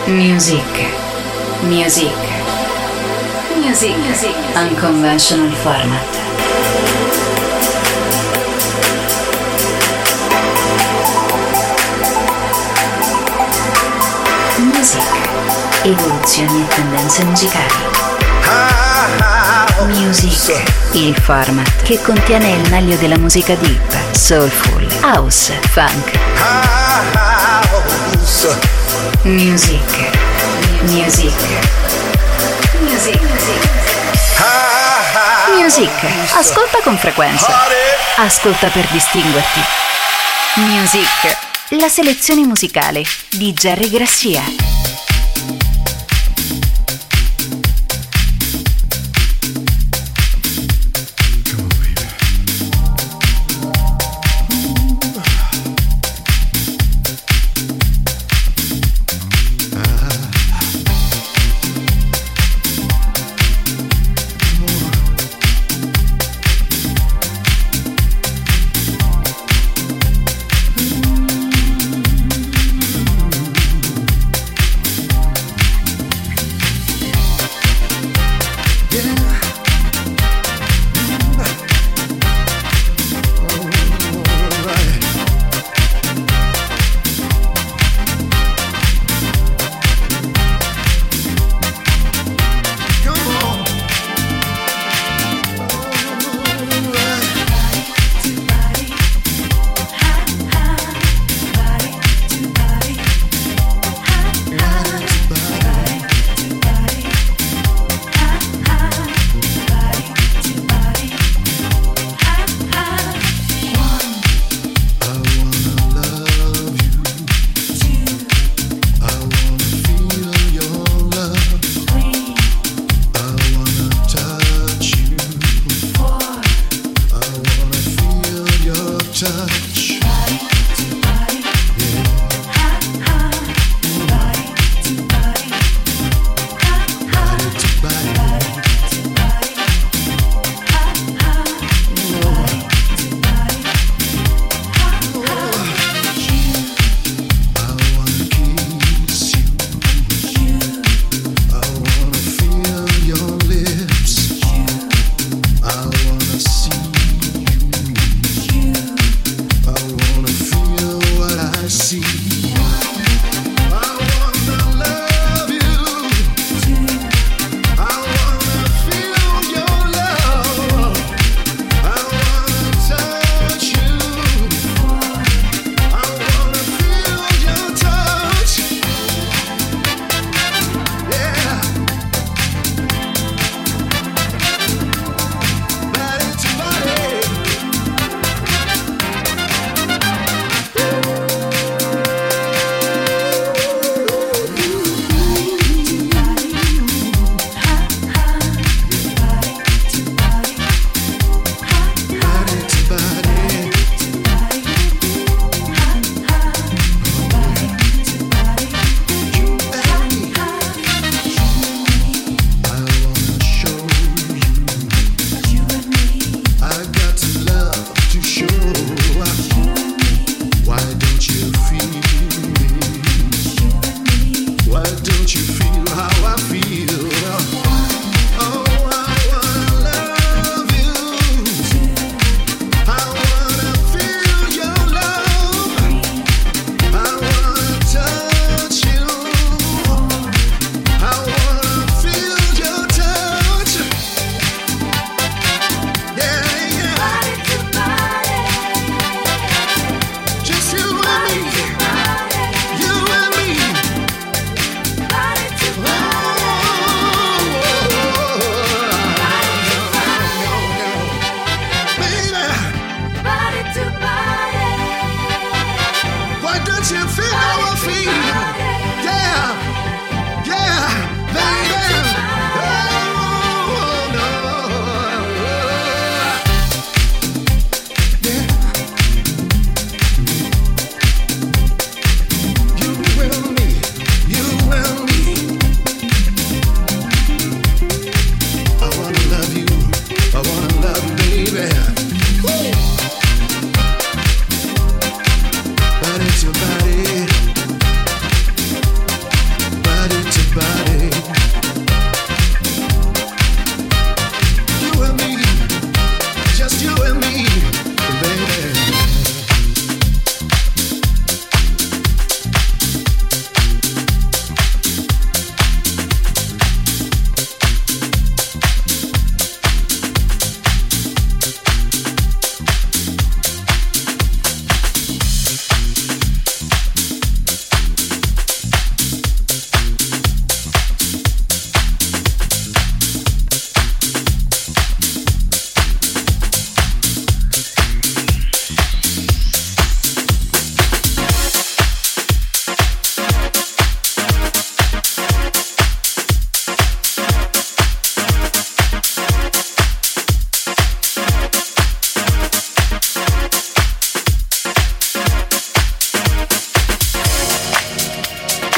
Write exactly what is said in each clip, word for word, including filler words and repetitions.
Music. Music. Music. Music. Unconventional format. Music. Evoluzioni e tendenze musicali. Music, il format che contiene il meglio della musica deep, soulful, house, funk. Music, music, music, music. Ascolta con frequenza. Ascolta per distinguerti. Music, la selezione musicale di Jerry Grassia.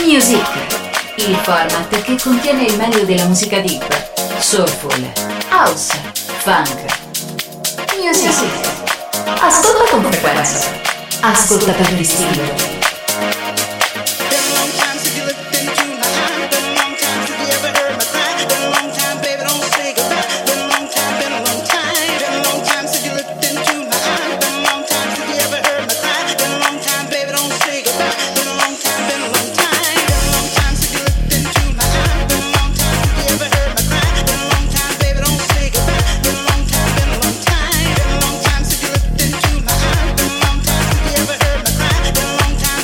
Music, il format che contiene il meglio della musica deep, soulful, house, funk. Music. Ascolta con frequenza. Ascolta per distinguerti. Long time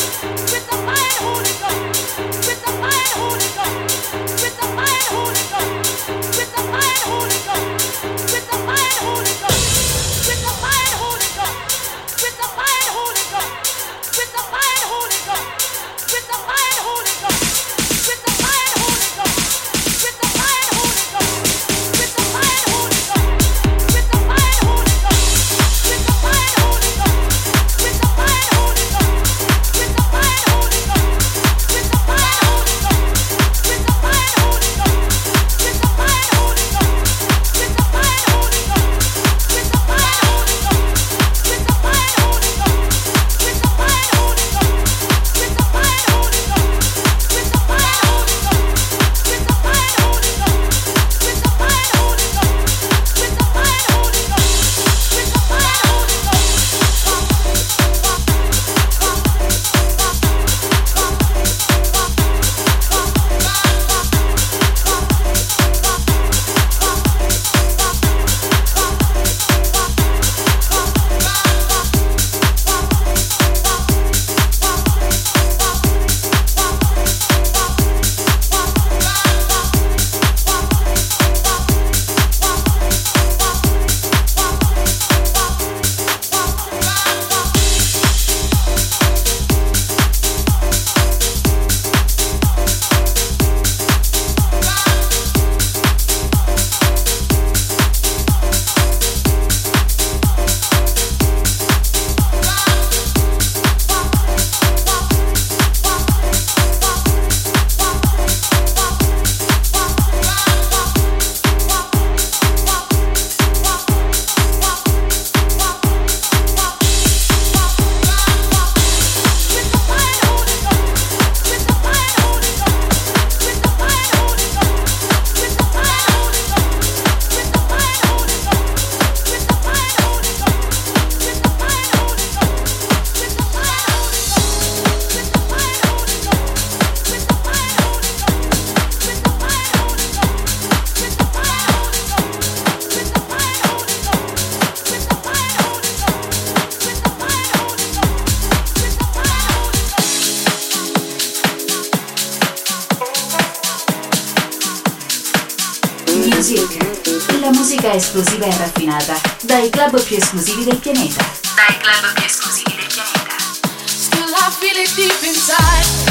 Music, la musica esplosiva e raffinata dai club più esclusivi del pianeta. Dai club più esclusivi del pianeta. Still I feel it deep inside.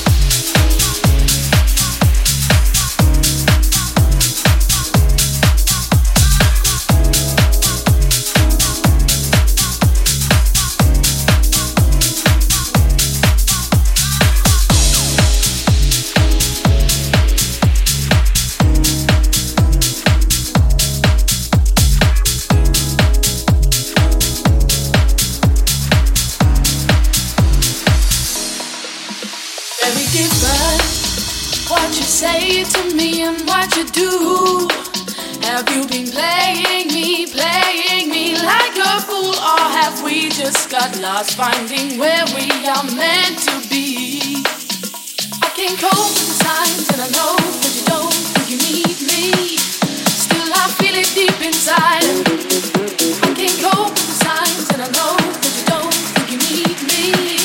Say to me and what you do. Have you been playing me, playing me like a fool? Or have we just got lost finding where we are meant to be? I can't cope with the signs and I know that you don't think you need me. Still I feel it deep inside. I can't cope with the signs and I know that you don't think you need me.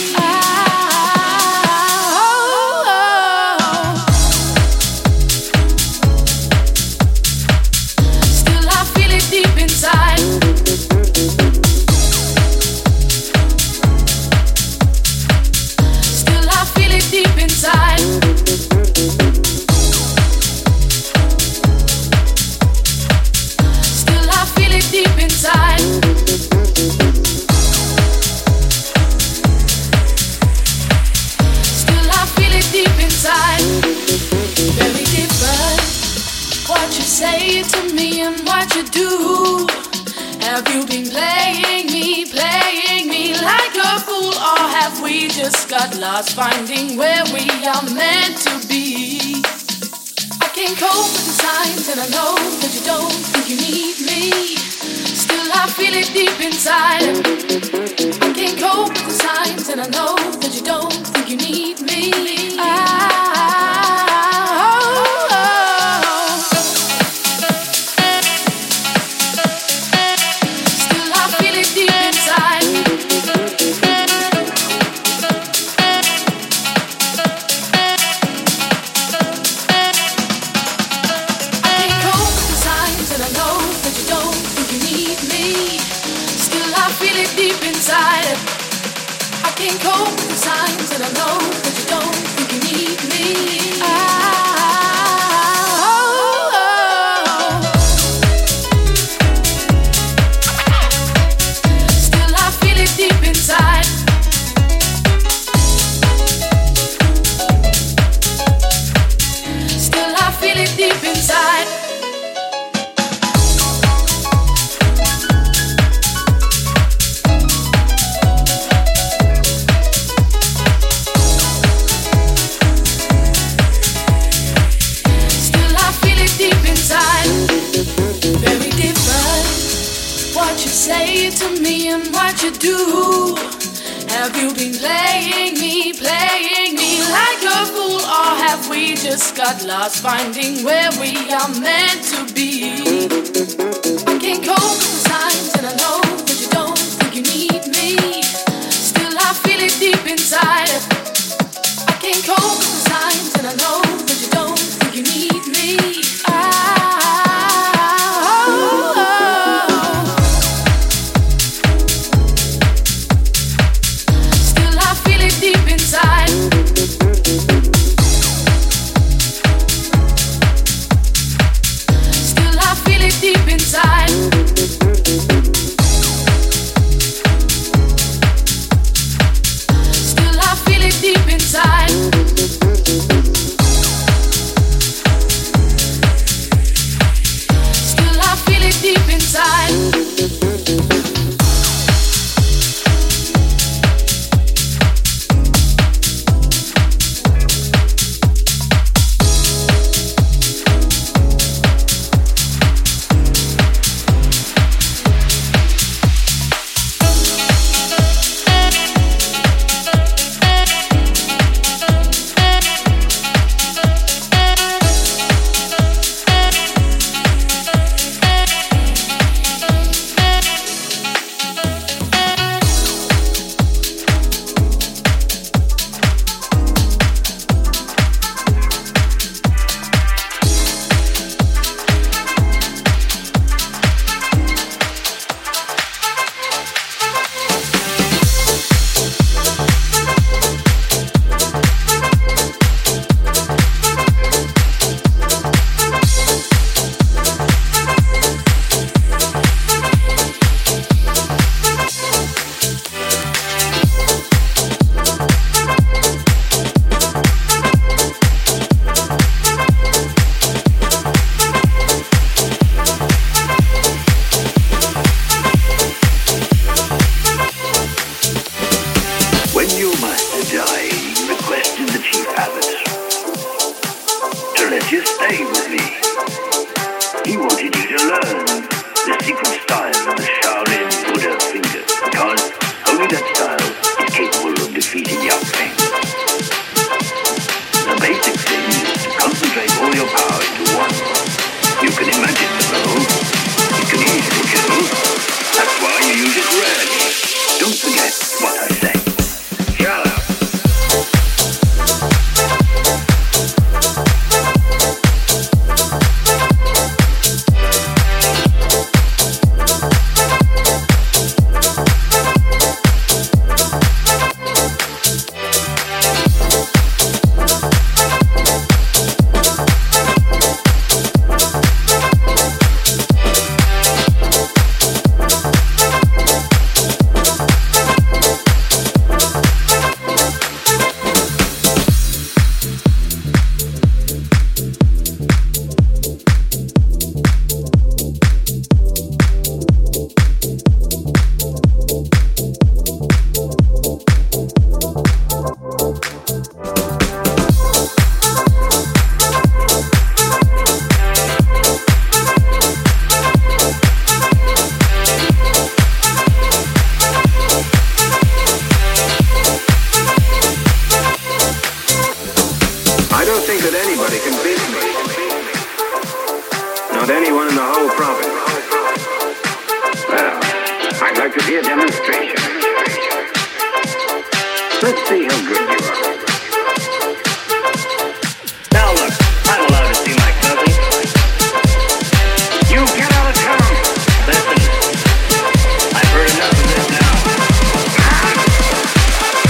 Say to me and what you do. Have you been playing me, playing me like a fool? Or have we just got lost finding where we are meant to be? I can't cope with the signs and I know that you don't think you need me. Still I feel it deep inside. I can't cope with the signs and I know that you don't think you need me. I Let's see how good you are. Now look, I'm allowed to see my cousin. You get out of town. Listen, I've heard enough of this now.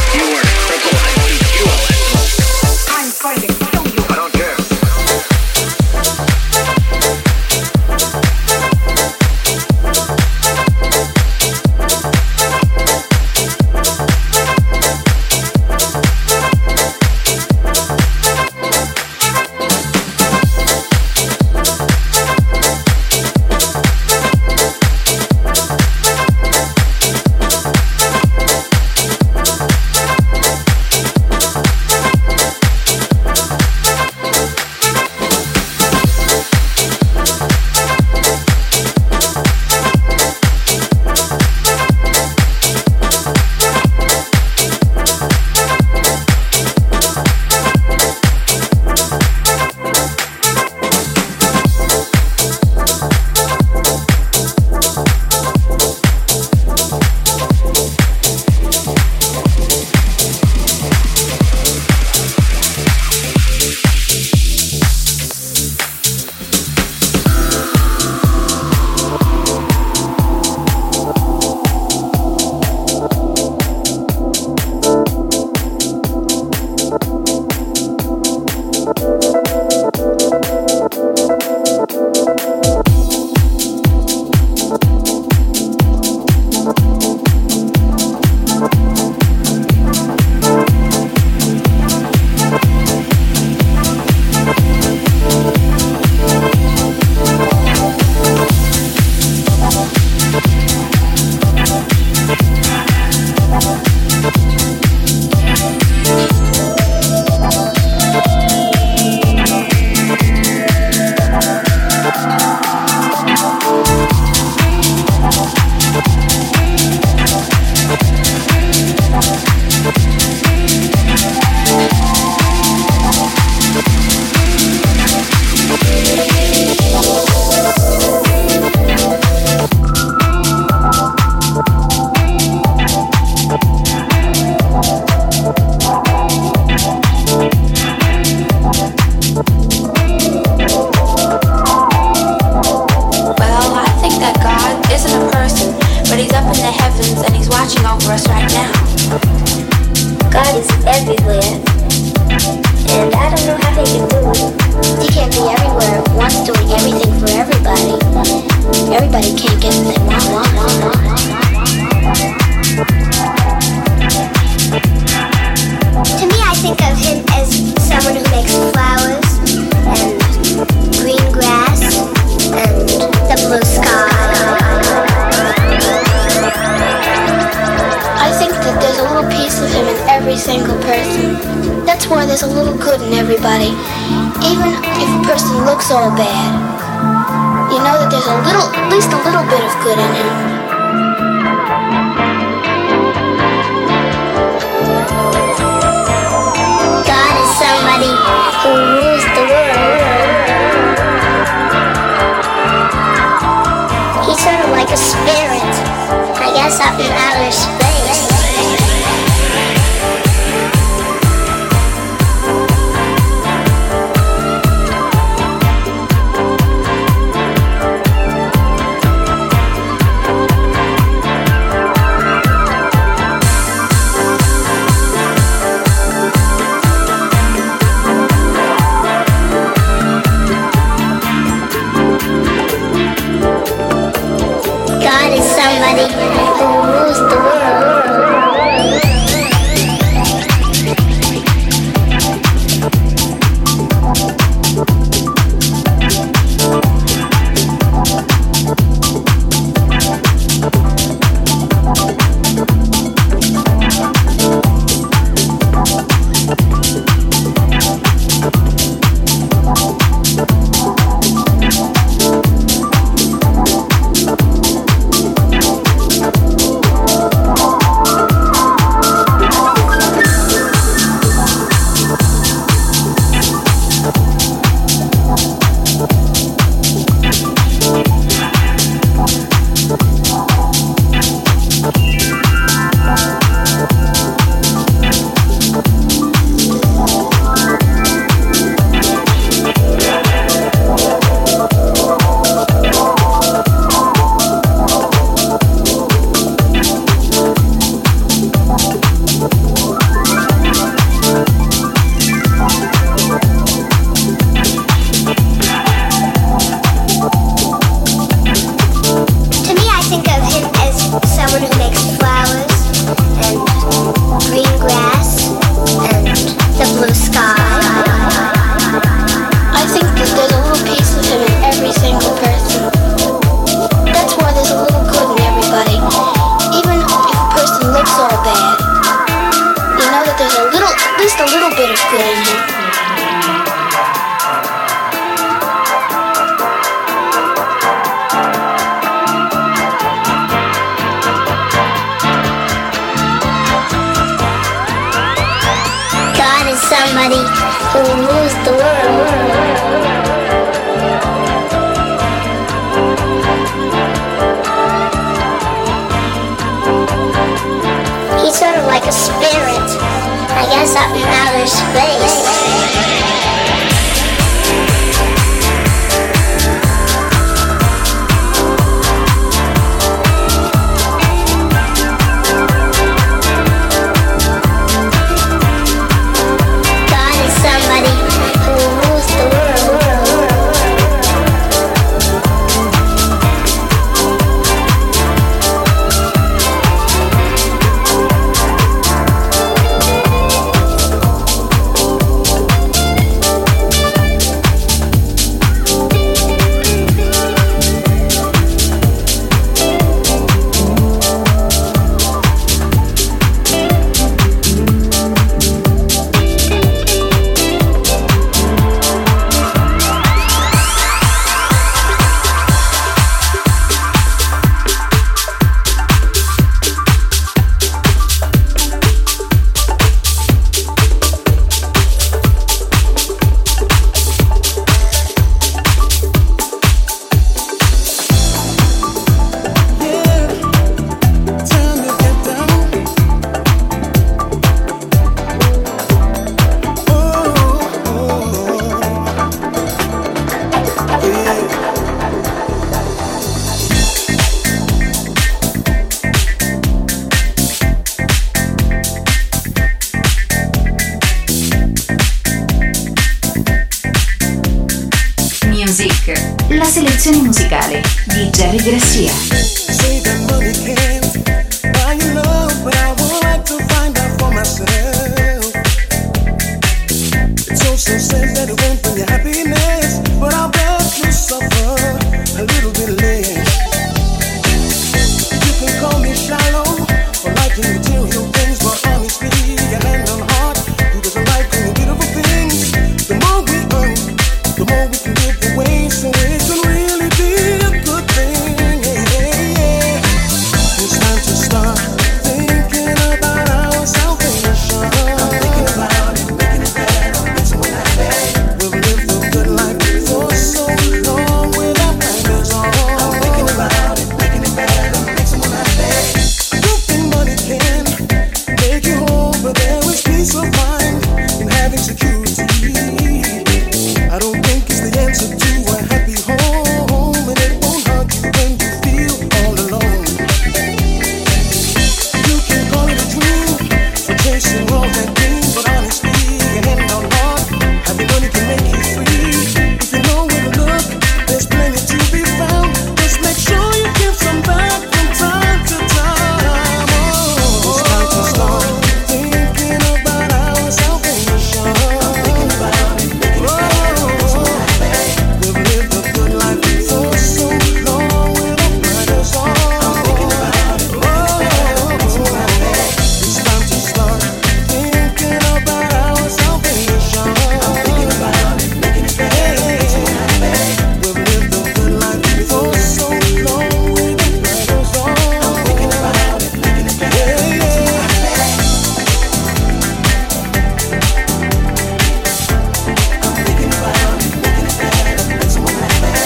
us right now. God is everywhere, and I don't know how he can do it. He can't be everywhere at once, doing everything for everybody. Everybody can't get what they want. To me, I think of him as someone who makes flowers and green grass and the blue sky. I think that there's a little piece of him in every single person. That's why there's a little good in everybody. Even if a person looks all bad, you know that there's a little, at least a little bit of good in him. God is somebody who rules the world. He's sort of like a spirit, I guess, up in outer space. Somebody who rules the world. Somebody who rules the world. He's sort of like a spirit, I guess, up in outer space. la selezione musicale di Jerry Garcia. Say that money can't buy you love, but I would like to find out for myself. It's so so sad that it won't bring you happiness, but I'll bet you suffer a little bit less. You can call me shallow for liking material things, but honestly, your hand on heart, who doesn't like any beautiful things? The more we earn, the more we can give away, so it can really be a good thing. It's time to start thinking about our salvation. I'm thinking about it, making it better, makes someone happy. We've lived a good life for so long without blinders on. I'm thinking about it, making it better, makes someone happy. I don't think money can make you whole, but there is peace of mind in having security. I don't think it's the answer to a happy home, and it won't hurt you when you feel all alone. You can call it a dream for chasing all that dream, but honestly, your hand on heart, having money can make you free. If you know where to look, there's plenty to be found. Just make sure you give some back from time to time. Oh, it's time to start thinking about our salvation. I'm thinking about it, making it better, makes someone happy. We've lived a good life for so long without blinders on. I'm thinking about it, making it better, makes someone happy. It's time to start thinking about our salvation. I'm thinking about it, making it better, makes someone happy. We've lived a good life for so long without blinders on. I'm thinking about it, making it better, makes someone happy. I'm thinking about it, making it better, makes someone happy.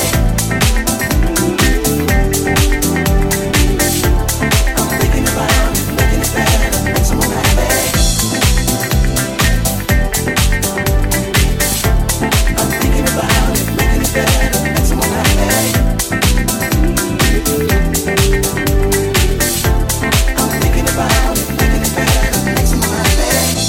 I'm thinking about it, making it better, makes someone happy. I'm thinking about it, making it better, makes someone happy. I'm thinking about it, making it better, makes someone happy.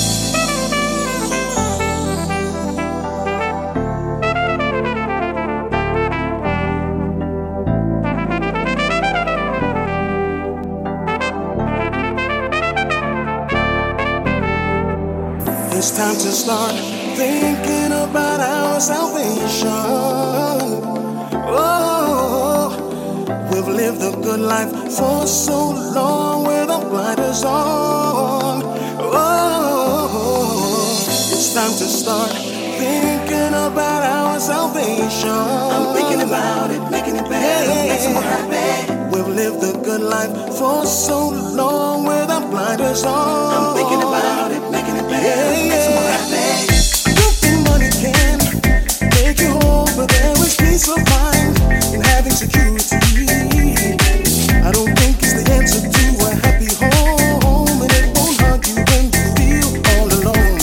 It's time to start thinking about our salvation. Oh, we've lived a good life for so long without blinders on. Oh, it's time to start thinking about our salvation. I'm thinking about it, making it better, makes someone happy. We've lived a good life for so long without blinders on. I'm thinking about it, making it better, makes someone happy. I don't think money can make you whole, but there is peace of mind in having security. I don't think it's the answer to a happy home, and it won't hurt you when you feel all alone.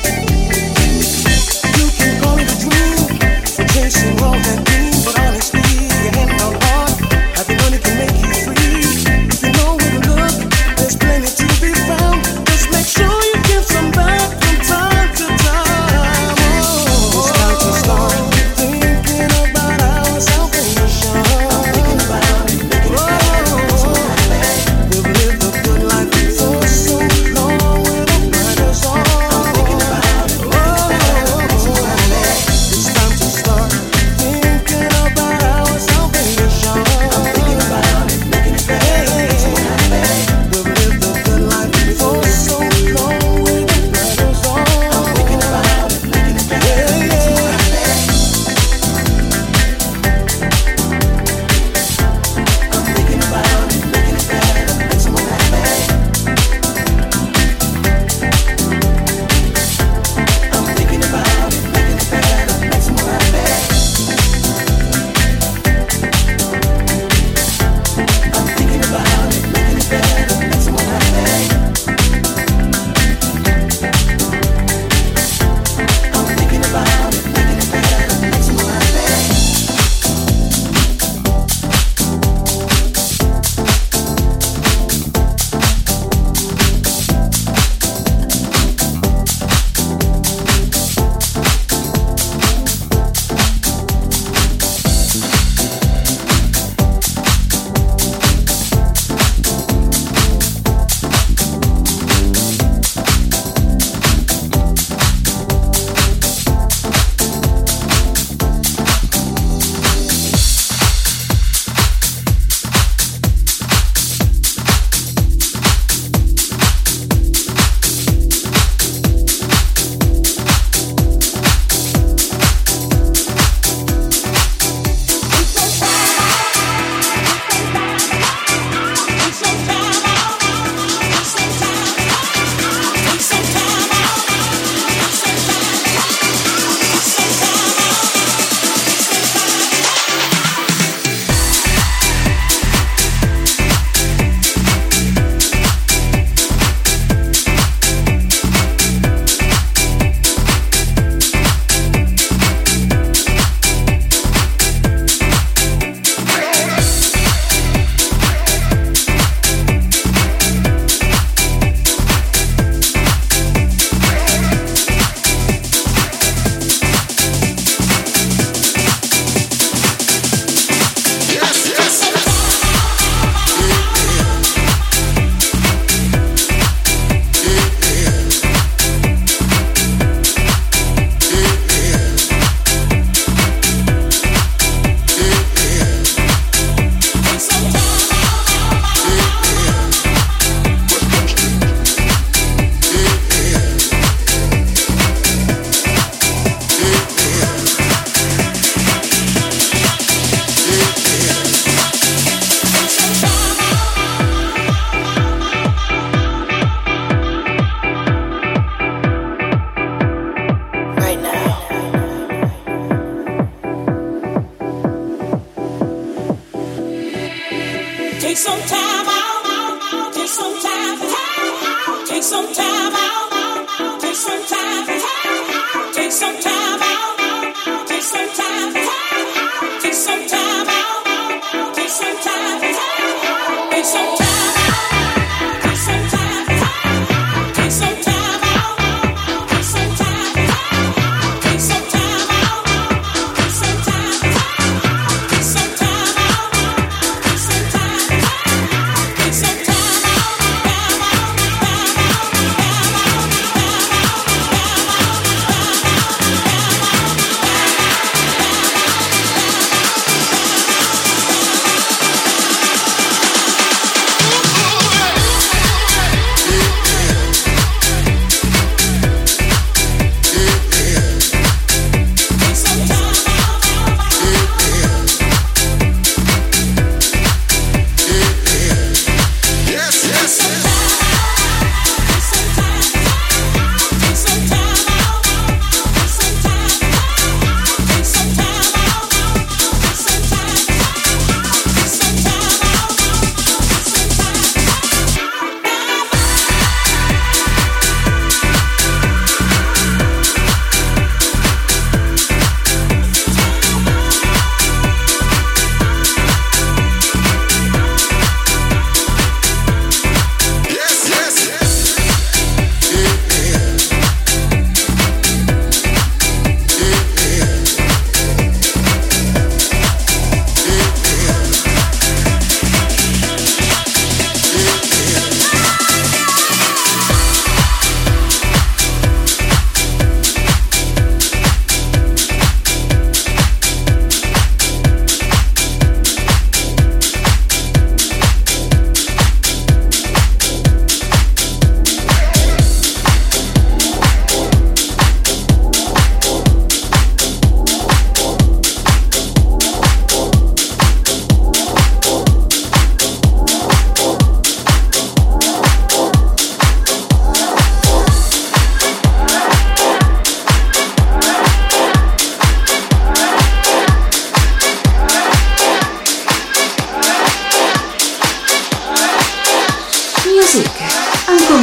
You can call it a dream for chasing all that dream, but honestly, your hand on heart, having money can make you free. If you know where to look, there's plenty to be found.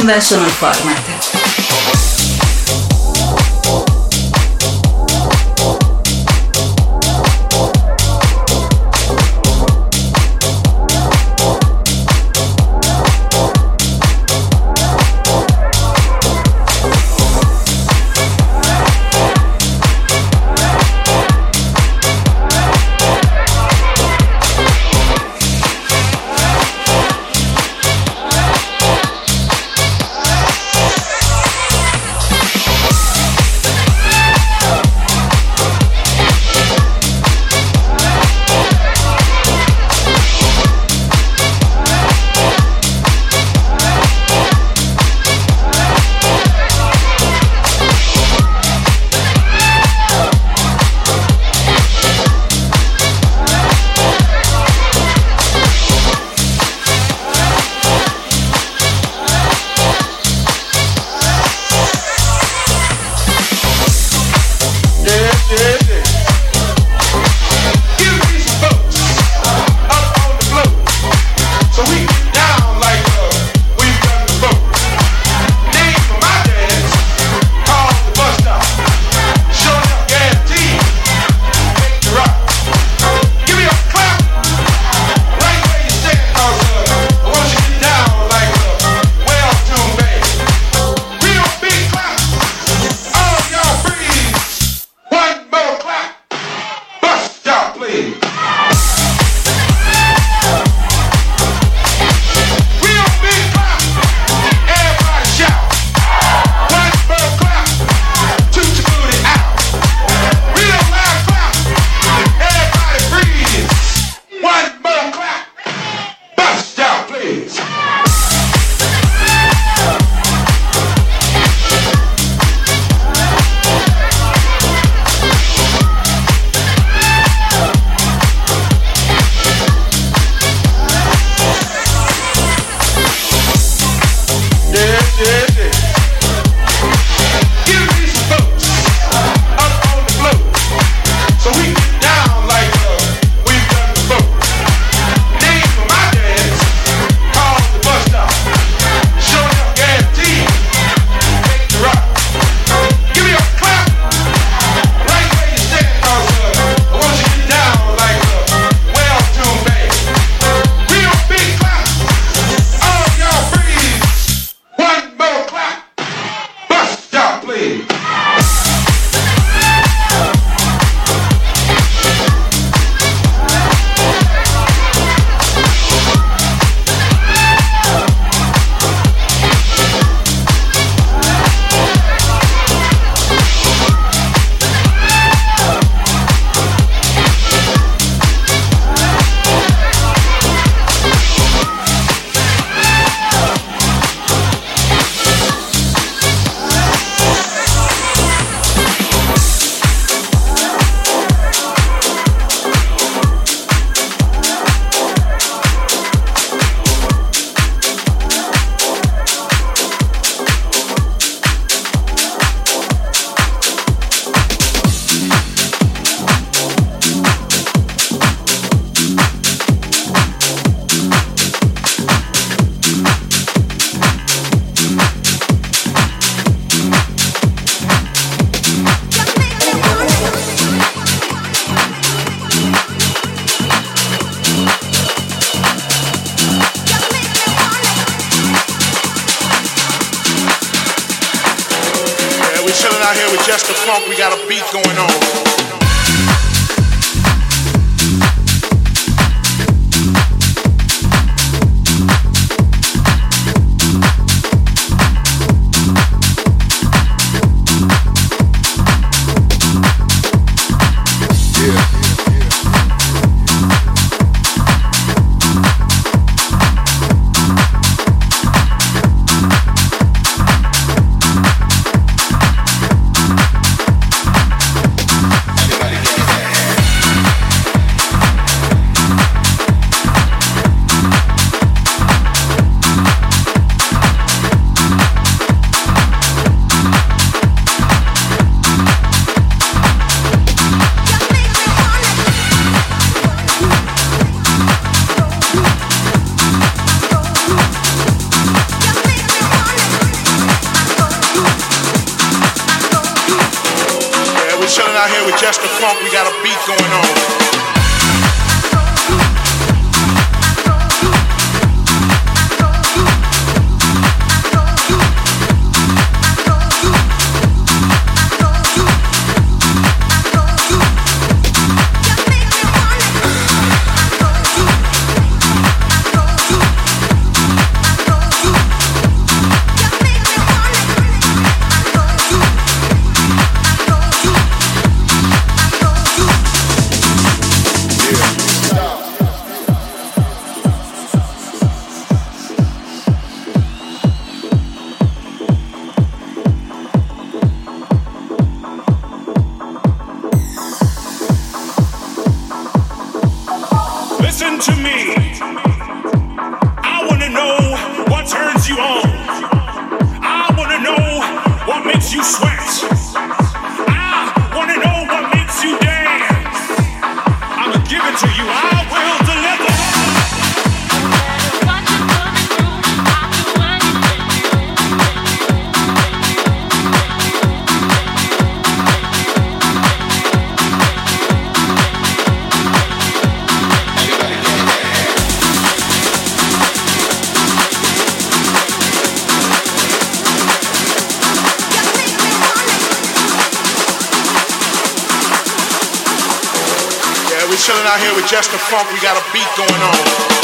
Conventional Format. Out here with just the funk, we got a beat going on. out here with just the funk. We got a beat going on. Listen to me. I wanna know what turns you on. I wanna know what makes you sweat. I wanna know what makes you dance. I'ma give it to you. I will deliver. We're chilling out here with just the funk. We got a beat going on.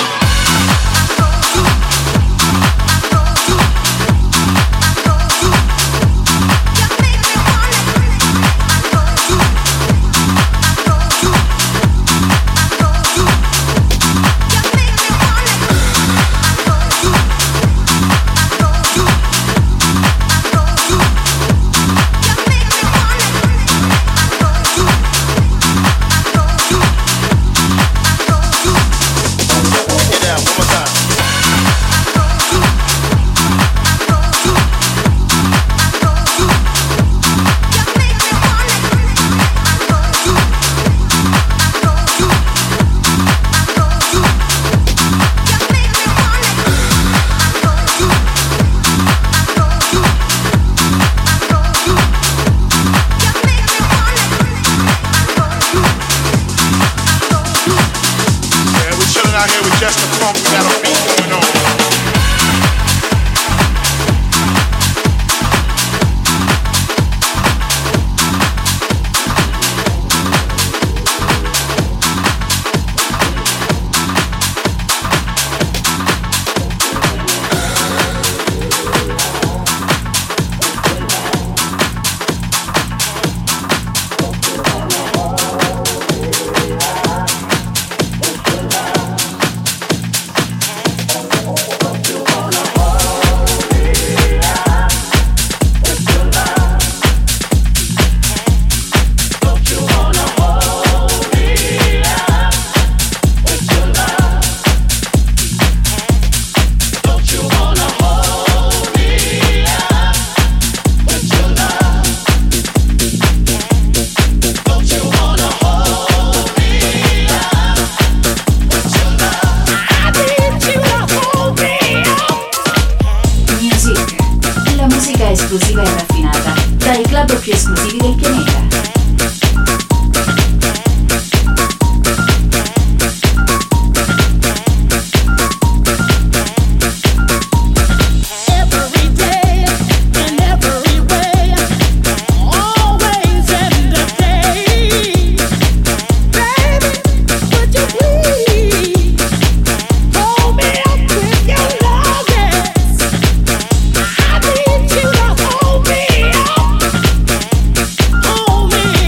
Out here with just the funk, we got a beat going on. Esclusiva e raffinata dai club più esclusivi del pianeta. Oh, me.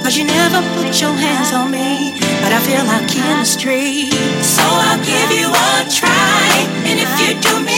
Cause you never put your hands on me, but I feel our chemistry. So I'll give you a try, and if you do me